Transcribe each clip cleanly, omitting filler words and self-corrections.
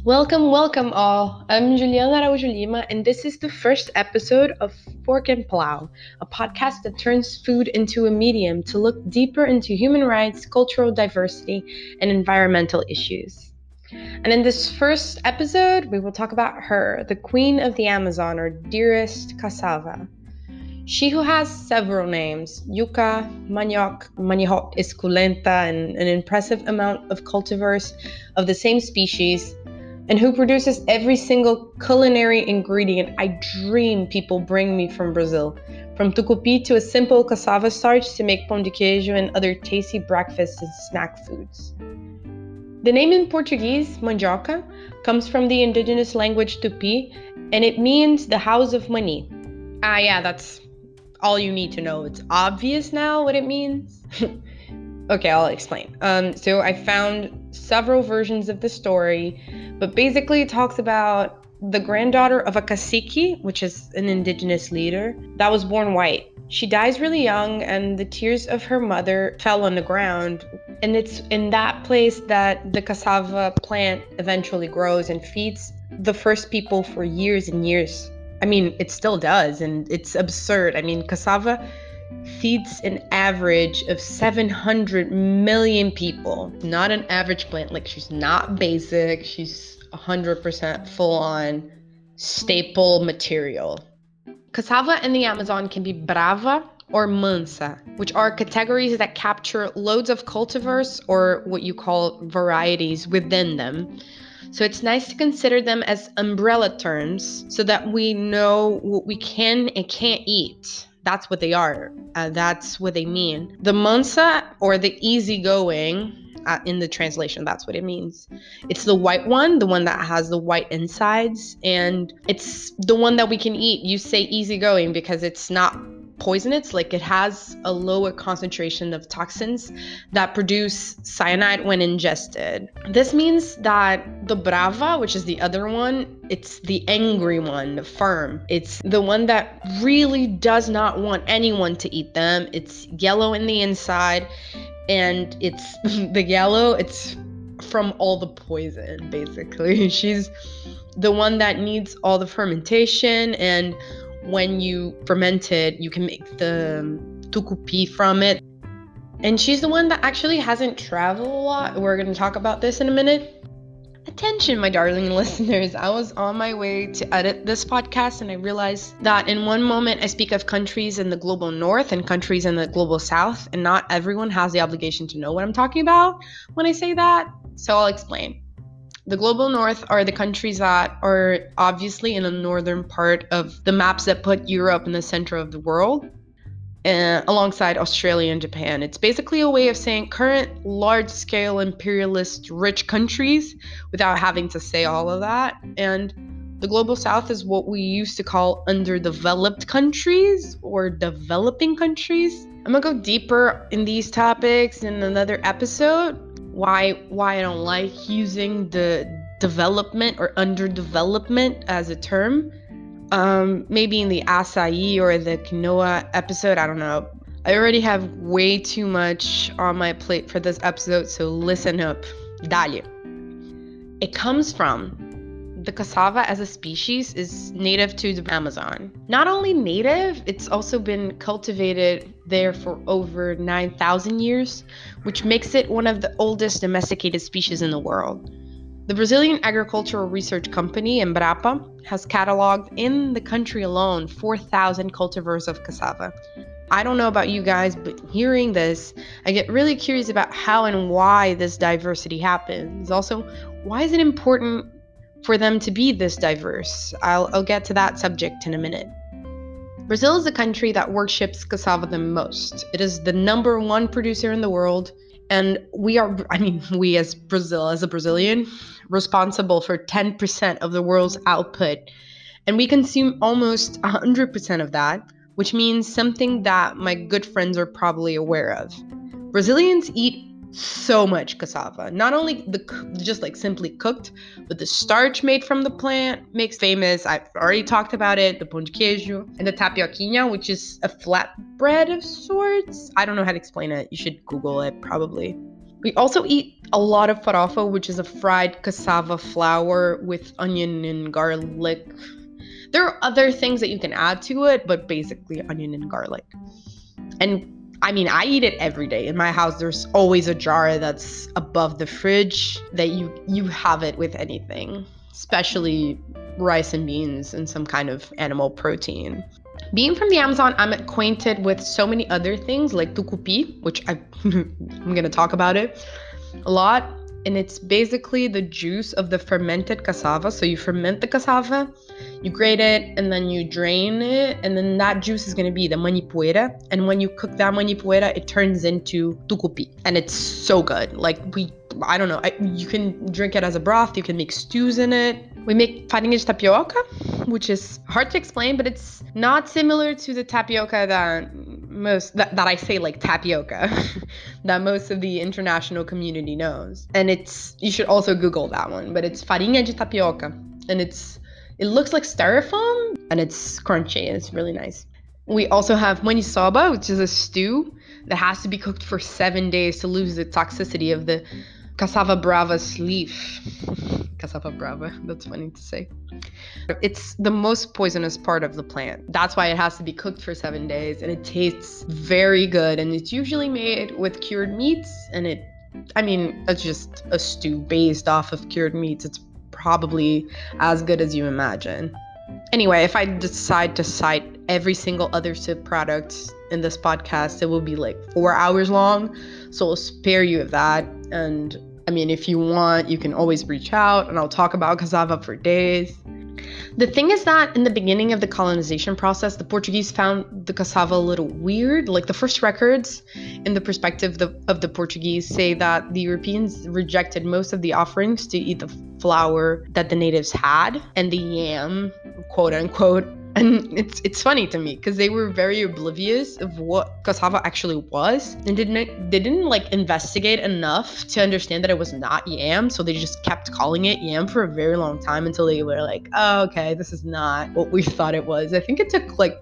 Welcome all. I'm Juliana Araújo Lima, and this is the first episode of Fork and Plow, a podcast that turns food into a medium to look deeper into human rights, cultural diversity, and environmental issues. And in this first episode, we will talk about her, the queen of the Amazon, or dearest cassava. She who has several names, yuca, manioc, manihot, esculenta, and an impressive amount of cultivars of the same species, and who produces every single culinary ingredient I dream people bring me from Brazil, from tucupi to a simple cassava starch to make pão de queijo and other tasty breakfast and snack foods. The name in Portuguese, mandioca, comes from the indigenous language Tupi, and it means the house of money. That's all you need to know. It's obvious now what it means. Okay, I'll explain. So I found several versions of the story, but basically it talks about the granddaughter of a cacique, which is an indigenous leader, that was born white. She dies really young, and the tears of her mother fell on the ground. And it's in that place that the cassava plant eventually grows and feeds the first people for years and years. I mean, it still does, and it's absurd. I mean, cassava feeds an average of 700 million people. Not an average plant. Like, she's not basic. She's 100% full-on staple material. Cassava in the Amazon can be brava or mansa, which are categories that capture loads of cultivars, or what you call varieties, within them. So it's nice to consider them as umbrella terms so that we know what we can and can't eat. That's what they are. That's what they mean. The mansa, or the easygoing, in the translation, that's what it means. It's the white one, the one that has the white insides, and it's the one that we can eat. You say easygoing because it's not poisonous. Like, it has a lower concentration of toxins that produce cyanide when ingested. This means that the brava, which is the other one, it's the angry one, the firm. It's the one that really does not want anyone to eat them. It's yellow in the inside, and it's the yellow, it's from all the poison, basically. She's the one that needs all the fermentation, and when you ferment it, you can make the tucupi from it. And she's the one that actually hasn't traveled a lot. We're going to talk about this in a minute. Attention, my darling listeners. I was on my way to edit this podcast, and I realized that in one moment I speak of countries in the global north and countries in the global south, and not everyone has the obligation to know what I'm talking about when I say that. So I'll explain. The global north are the countries that are obviously in the northern part of the maps that put Europe in the center of the world, alongside Australia and Japan. It's basically a way of saying current large-scale imperialist rich countries without having to say all of that. And the global south is what we used to call underdeveloped countries or developing countries. I'm gonna go deeper in these topics in another episode. Why I don't like using the development or underdevelopment as a term. Maybe in the acai or the quinoa episode, I don't know. I already have way too much on my plate for this episode, so listen up. Dale. It comes from the cassava as a species is native to the Amazon. Not only native, it's also been cultivated there for over 9,000 years, which makes it one of the oldest domesticated species in the world. The Brazilian Agricultural Research Company, Embrapa, has cataloged in the country alone 4,000 cultivars of cassava. I don't know about you guys, but hearing this, I get really curious about how and why this diversity happens. Also, why is it important for them to be this diverse? I'll get to that subject in a minute. Brazil is the country that worships cassava the most. It is the number one producer in the world, and we as Brazil, as a Brazilian, responsible for 10% of the world's output, and we consume almost 100% of that, which means something that my good friends are probably aware of. Brazilians eat so much cassava. Not only just like simply cooked, but the starch made from the plant makes famous. I've already talked about it, the pão de queijo, and the tapioquinha, which is a flatbread of sorts. I don't know how to explain it. You should Google it, probably. We also eat a lot of farofa, which is a fried cassava flour with onion and garlic. There are other things that you can add to it, but basically onion and garlic. And I mean, I eat it every day. In my house, there's always a jar that's above the fridge that you have it with anything, especially rice and beans and some kind of animal protein. Being from the Amazon, I'm acquainted with so many other things like tucupi, which I'm going to talk about it a lot. And it's basically the juice of the fermented cassava. So you ferment the cassava, you grate it, and then you drain it. And then that juice is going to be the manipuera. And when you cook that manipuera, it turns into tucupi. And it's so good. I don't know, you can drink it as a broth. You can make stews in it. We make farinha de tapioca, which is hard to explain, but it's not similar to the tapioca that I say like tapioca, that most of the international community knows. And you should also Google that one, but it's farinha de tapioca. And it looks like styrofoam, and it's crunchy, and it's really nice. We also have maniçoba, which is a stew that has to be cooked for 7 days to lose the toxicity of the cassava brava's leaf. Cassava brava, that's funny to say. It's the most poisonous part of the plant. That's why it has to be cooked for 7 days, and it tastes very good. And it's usually made with cured meats, and it's just a stew based off of cured meats. It's probably as good as you imagine. Anyway, if I decide to cite every single other SIP product in this podcast, it will be like 4 hours long. So I'll spare you of that. And if you want, you can always reach out and I'll talk about cassava for days. The thing is that in the beginning of the colonization process, the Portuguese found the cassava a little weird. Like the first records in the perspective of the Portuguese say that the Europeans rejected most of the offerings to eat the flour that the natives had and the yam, quote unquote. And it's funny to me because they were very oblivious of what cassava actually was and they didn't like investigate enough to understand that it was not yam. So they just kept calling it yam for a very long time until they were like, oh, okay, this is not what we thought it was. I think it took like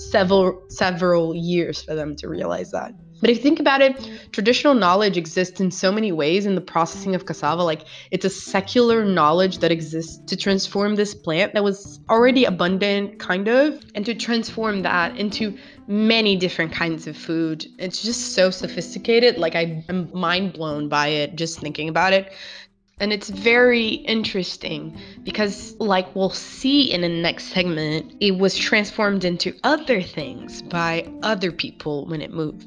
several years for them to realize that. But if you think about it, traditional knowledge exists in so many ways in the processing of cassava. Like it's a secular knowledge that exists to transform this plant that was already abundant, kind of, and to transform that into many different kinds of food. It's just so sophisticated. Like I'm mind blown by it just thinking about it. And it's very interesting because, like we'll see in the next segment, it was transformed into other things by other people when it moved.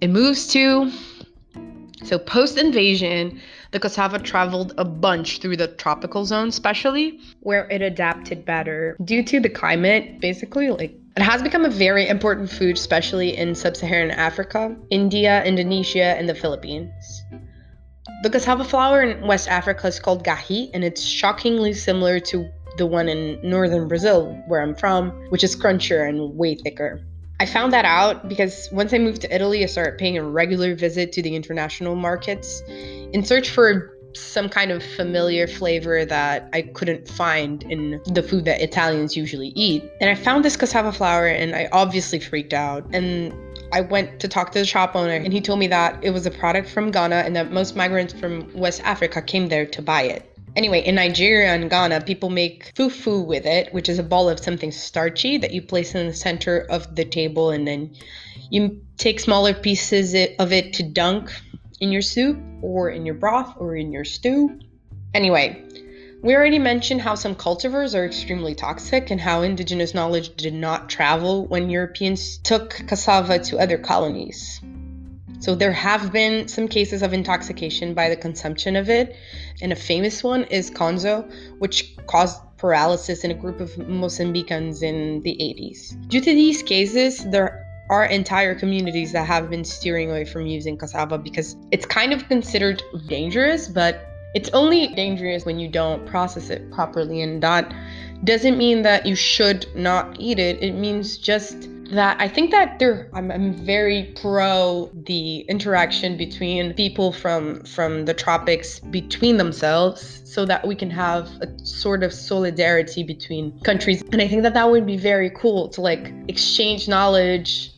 So post-invasion, the cassava traveled a bunch through the tropical zone, especially where it adapted better due to the climate, basically. Like it has become a very important food, especially in sub-Saharan Africa, India, Indonesia, and the Philippines. The cassava flour in West Africa is called gahi, and it's shockingly similar to the one in northern Brazil, where I'm from, which is crunchier and way thicker. I found that out because once I moved to Italy, I started paying a regular visit to the international markets in search for some kind of familiar flavor that I couldn't find in the food that Italians usually eat. And I found this cassava flour and I obviously freaked out. And I went to talk to the shop owner and he told me that it was a product from Ghana and that most migrants from West Africa came there to buy it. Anyway, in Nigeria and Ghana, people make fufu with it, which is a ball of something starchy that you place in the center of the table, and then you take smaller pieces of it to dunk in your soup or in your broth or in your stew. Anyway, we already mentioned how some cultivars are extremely toxic and how indigenous knowledge did not travel when Europeans took cassava to other colonies. So there have been some cases of intoxication by the consumption of it, and a famous one is Konzo, which caused paralysis in a group of Mozambicans in the 80s. Due to these cases, there are entire communities that have been steering away from using cassava because it's kind of considered dangerous, but it's only dangerous when you don't process it properly, and that doesn't mean that you should not eat it. It means just that I think that I'm very pro the interaction between people from the tropics between themselves so that we can have a sort of solidarity between countries. And I think that would be very cool to like exchange knowledge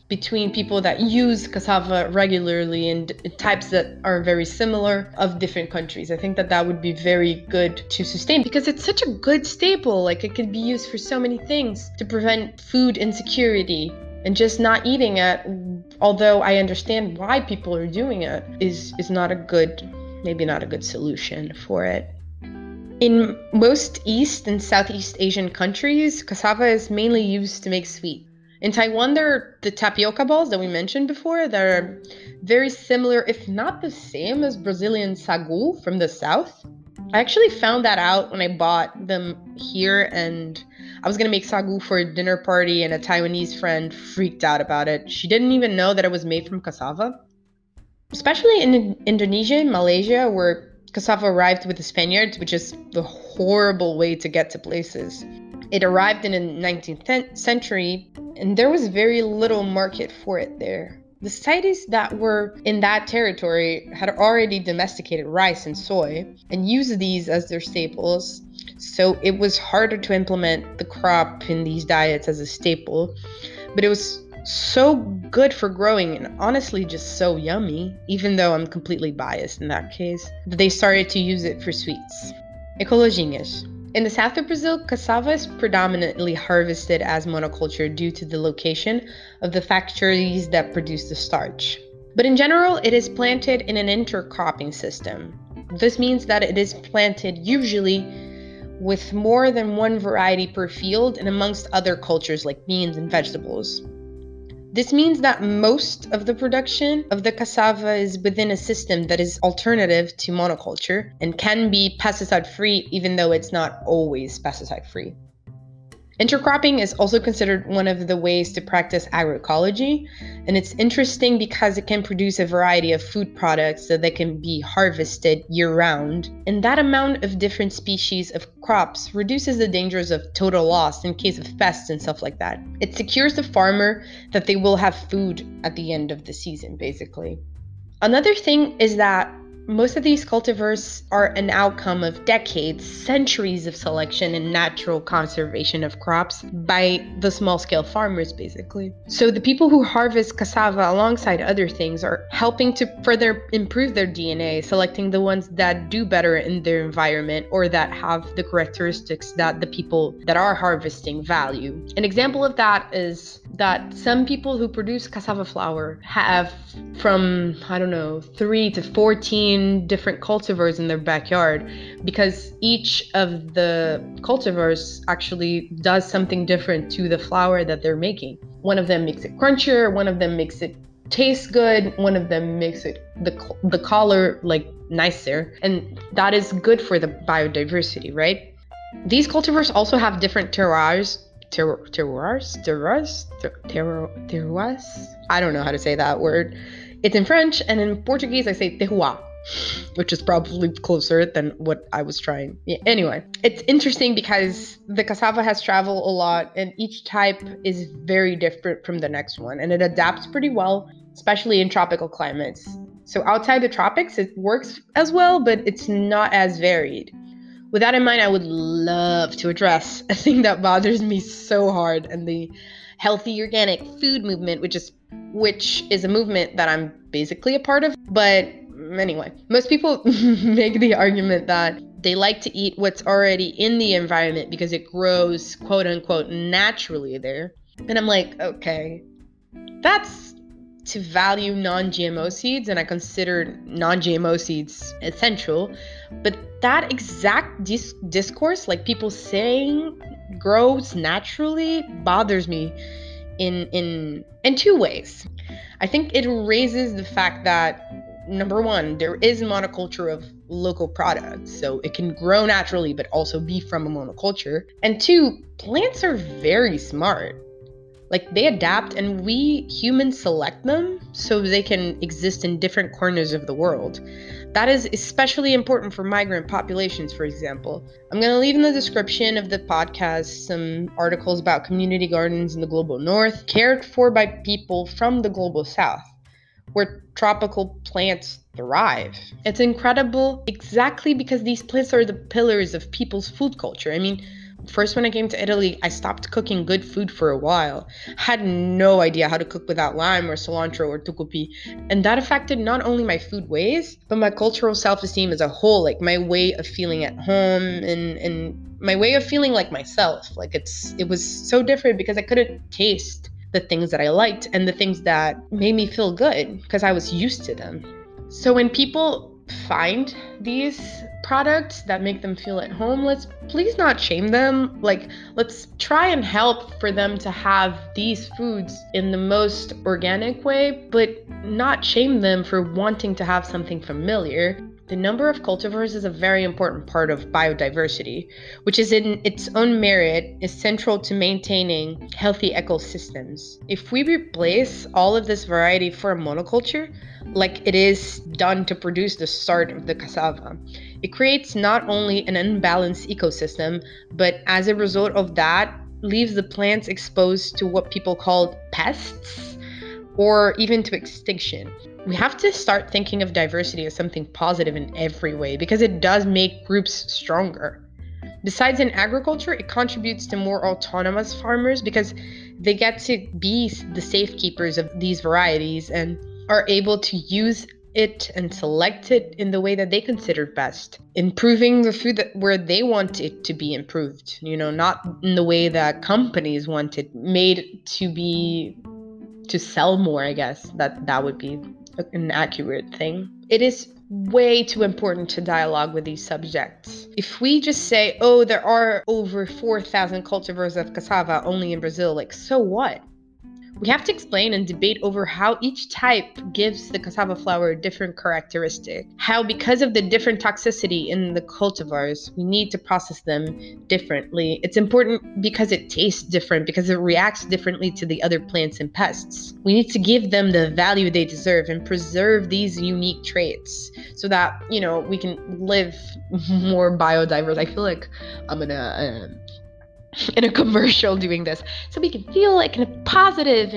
between people that use cassava regularly and types that are very similar of different countries. I think that that would be very good to sustain because it's such a good staple. Like, it could be used for so many things to prevent food insecurity, and just not eating it, although I understand why people are doing it, is not a good, maybe not a good solution for it. In most East and Southeast Asian countries, cassava is mainly used to make sweet. In Taiwan, there are the tapioca balls that we mentioned before that are very similar, if not the same, as Brazilian sagu from the south. I actually found that out when I bought them here, and I was going to make sagu for a dinner party, and a Taiwanese friend freaked out about it. She didn't even know that it was made from cassava. Especially in Indonesia and Malaysia, where cassava arrived with the Spaniards, which is the horrible way to get to places. It arrived in the 19th century, and there was very little market for it there. The societies that were in that territory had already domesticated rice and soy and used these as their staples, so it was harder to implement the crop in these diets as a staple, but it was so good for growing and honestly just so yummy, even though I'm completely biased in that case, that they started to use it for sweets. Ecologinhas. In the south of Brazil, cassava is predominantly harvested as monoculture due to the location of the factories that produce the starch. But in general, it is planted in an intercropping system. This means that it is planted usually with more than one variety per field and amongst other cultures like beans and vegetables. This means that most of the production of the cassava is within a system that is alternative to monoculture and can be pesticide-free, even though it's not always pesticide-free. Intercropping is also considered one of the ways to practice agroecology, and it's interesting because it can produce a variety of food products so they can be harvested year-round, and that amount of different species of crops reduces the dangers of total loss in case of pests and stuff like that. It secures the farmer that they will have food at the end of the season, basically. Another thing is that most of these cultivars are an outcome of decades, centuries of selection and natural conservation of crops by the small-scale farmers, basically. So the people who harvest cassava alongside other things are helping to further improve their DNA, selecting the ones that do better in their environment or that have the characteristics that the people that are harvesting value. An example of that is that some people who produce cassava flour have from, 3 to 14 different cultivars in their backyard, because each of the cultivars actually does something different to the flour that they're making. One of them makes it crunchier, one of them makes it taste good, one of them makes it the color like nicer, and that is good for the biodiversity, right? These cultivars also have different terroirs. I don't know how to say that word. It's in French, and in Portuguese I say terroir, which is probably closer than what I was trying. Yeah, anyway, it's interesting because the cassava has traveled a lot, and each type is very different from the next one, and it adapts pretty well, especially in tropical climates. So outside the tropics, it works as well, but it's not as varied. With that in mind, I would love to address a thing that bothers me so hard, and the healthy organic food movement, which is a movement that I'm basically a part of. But anyway, most people make the argument that they like to eat what's already in the environment because it grows, quote unquote, naturally there. And I'm like, okay, that's to value non-GMO seeds, and I consider non-GMO seeds essential. But that exact discourse, like people saying grows naturally, bothers me in two ways. I think it raises the fact that, number one, there is monoculture of local products, so it can grow naturally but also be from a monoculture. And two, plants are very smart. Like, they adapt, and we humans select them so they can exist in different corners of the world. That is especially important for migrant populations, for example. I'm going to leave in the description of the podcast some articles about community gardens in the global north, cared for by people from the global south, where tropical plants thrive. It's incredible exactly because these plants are the pillars of people's food culture. I mean, First, when I came to Italy, I stopped cooking good food for a while. Had no idea how to cook without lime or cilantro or tucupi. And that affected not only my food ways, but my cultural self-esteem as a whole, like my way of feeling at home and my way of feeling like myself. Like it was so different because I couldn't taste the things that I liked and the things that made me feel good because I was used to them. So when people find these products that make them feel at home, let's please not shame them. Like, let's try and help for them to have these foods in the most organic way, but not shame them for wanting to have something familiar. The number of cultivars is a very important part of biodiversity, which is in its own merit is central to maintaining healthy ecosystems. If we replace all of this variety for a monoculture, like it is done to produce the start of the cassava, it creates not only an unbalanced ecosystem, but as a result of that, leaves the plants exposed to what people call pests or even to extinction. We have to start thinking of diversity as something positive in every way because it does make groups stronger. Besides in agriculture, it contributes to more autonomous farmers because they get to be the safekeepers of these varieties and are able to use it and select it in the way that they consider best, improving the food where they want it to be improved, not in the way that companies want it made to sell more. I guess that would be an accurate thing. It is way too important to dialogue with these subjects. If we just say, oh, there are over 4,000 cultivars of cassava only in Brazil, like, so what? We have to explain and debate over how each type gives the cassava flour a different characteristic. How, because of the different toxicity in the cultivars, we need to process them differently. It's important because it tastes different, because it reacts differently to the other plants and pests. We need to give them the value they deserve and preserve these unique traits so that, we can live more biodiverse. I feel like I'm gonna in a commercial doing this so we can feel like positive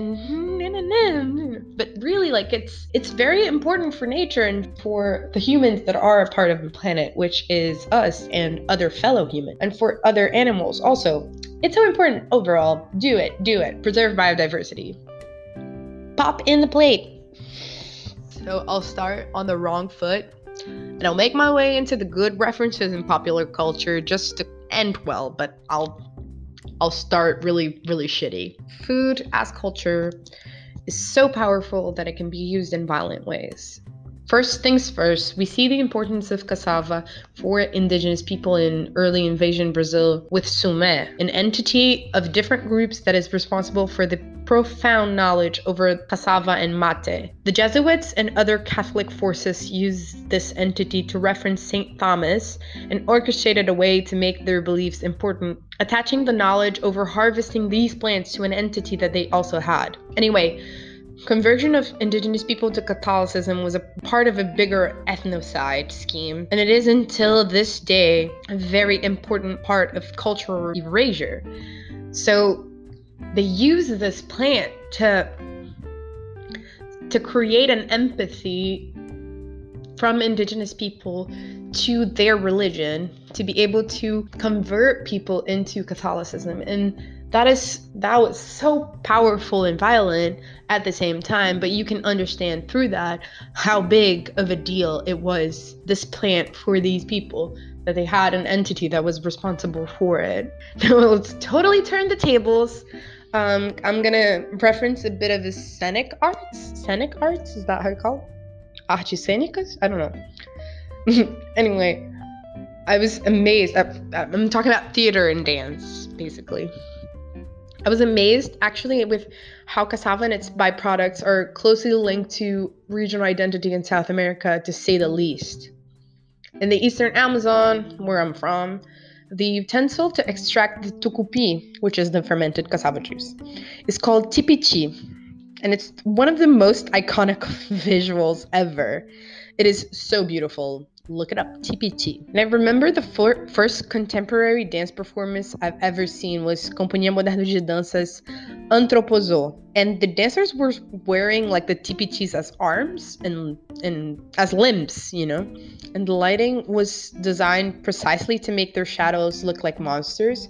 and but really, like, it's very important for nature and for the humans that are a part of the planet, which is us and other fellow humans, and for other animals also. It's so important overall. Do it. Preserve biodiversity. Pop in the plate. So I'll start on the wrong foot and I'll make my way into the good references in popular culture just to end well, but I'll start really, really shitty. Food as culture is so powerful that it can be used in violent ways. First things first, we see the importance of cassava for indigenous people in early invasion Brazil with Sumé, an entity of different groups that is responsible for the profound knowledge over cassava and mate. The Jesuits and other Catholic forces used this entity to reference St. Thomas and orchestrated a way to make their beliefs important, attaching the knowledge over harvesting these plants to an entity that they also had. Anyway, conversion of indigenous people to Catholicism was a part of a bigger ethnocide scheme, and it is until this day a very important part of cultural erasure. So they use this plant to create an empathy from indigenous people to their religion, to be able to convert people into Catholicism. And that was so powerful and violent at the same time, but you can understand through that how big of a deal it was, this plant, for these people, that they had an entity that was responsible for it. Now let's totally turn the tables. I'm gonna reference a bit of the scenic arts. Scenic arts, is that how you call it? Artes cênicas? I don't know. Anyway, I was amazed. I'm talking about theater and dance, basically. I was amazed, actually, with how cassava and its byproducts are closely linked to regional identity in South America, to say the least. In the eastern Amazon, where I'm from, the utensil to extract the tucupi, which is the fermented cassava juice, is called tipichi, and it's one of the most iconic visuals ever. It is so beautiful. Look it up, tipichi. And I remember the first contemporary dance performance I've ever seen was Companhia Moderna de Danças Antropozo. And the dancers were wearing like the tipichis as arms and as limbs, And the lighting was designed precisely to make their shadows look like monsters.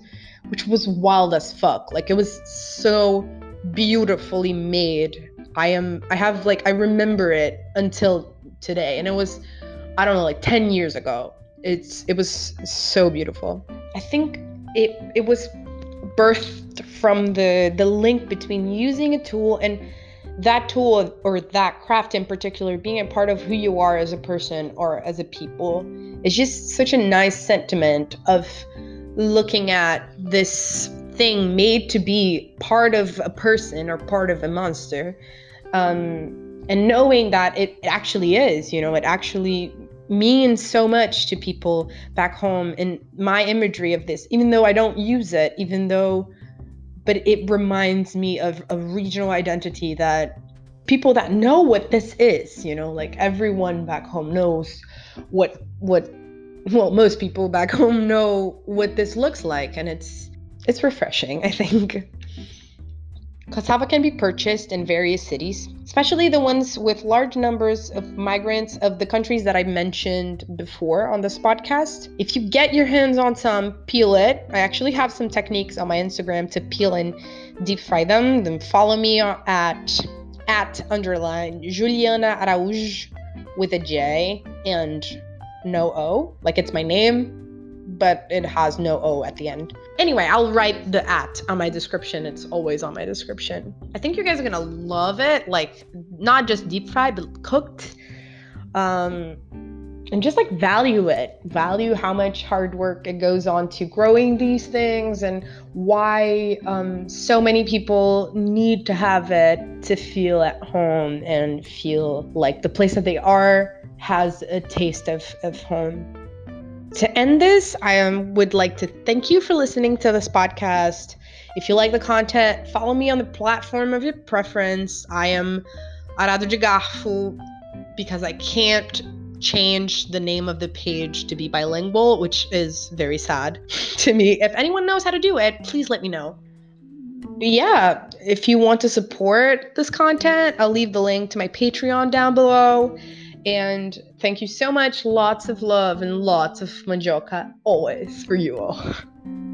which was wild as fuck. Like, it was so beautifully made. I remember it until today, and it was, I don't know, like 10 years ago. It was so beautiful. I think it was birthed from the link between using a tool and that tool or that craft in particular being a part of who you are as a person or as a people. It's just such a nice sentiment of looking at this thing made to be part of a person or part of a monster, and knowing that it actually is, it actually means so much to people back home. And my imagery of this, even though I don't use it, but it reminds me of a regional identity that people that know what this is, like everyone back home knows what most people back home know what this looks like. And it's refreshing, I think. Cassava can be purchased in various cities, especially the ones with large numbers of migrants of the countries that I mentioned before on this podcast. If you get your hands on some, peel it. I actually have some techniques on my Instagram to peel and deep fry them. Then follow me at _Juliana Araújo with a J and no O, like it's my name, but it has no O at the end. Anyway, I'll write the @ on my description. It's always on my description. I think you guys are gonna love it, like not just deep fried, but cooked. And just like value how much hard work it goes on to growing these things, and why so many people need to have it to feel at home and feel like the place that they are has a taste of home. To end this, I would like to thank you for listening to this podcast. If you like the content, follow me on the platform of your preference. I am Arado de Garfo because I can't change the name of the page to be bilingual, which is very sad to me. If anyone knows how to do it, please let me know. Yeah, if you want to support this content, I'll leave the link to my Patreon down below. And thank you so much. Lots of love and lots of mandioca always for you all.